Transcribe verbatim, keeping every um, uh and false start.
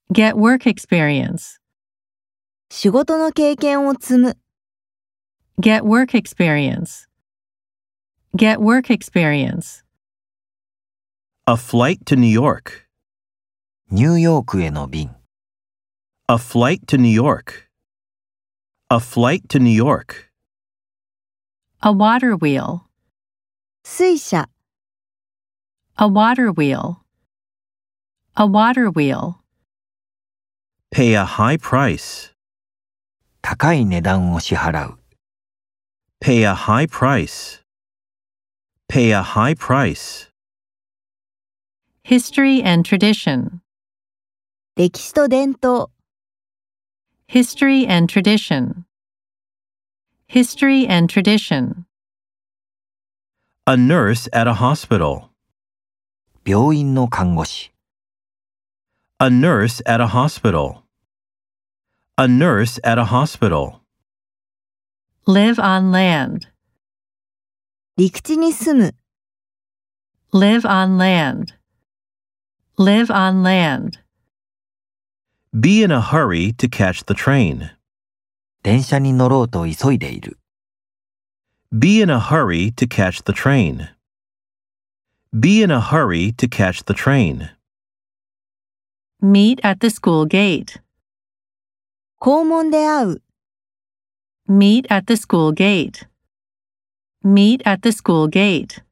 Get work experience. 仕事の経験を積む。 Get work experience. Get work experience. A flight to New York. ニューヨークへの便。 A flight to New York. A flight to New York. A water wheel. 水車。 A water wheel. A water wheel. Pay a high price. 高い値段を支払う。 Pay a high price. Pay a high price. History and tradition. 歴史と伝統。 History and tradition. History and tradition. A nurse at a hospital. 病院の看護師。 A nurse at a hospital. A nurse at a hospital. Live on land. 陸地に住む。 Live on land. Live on land. Be in a hurry to catch the train. 電車に乗ろうと急いでいる。 Be in a hurry to catch the train. Be in a hurry to catch the train. Meet at the school gate. 校門で会う。 Meet at the school gate. Meet at the school gate.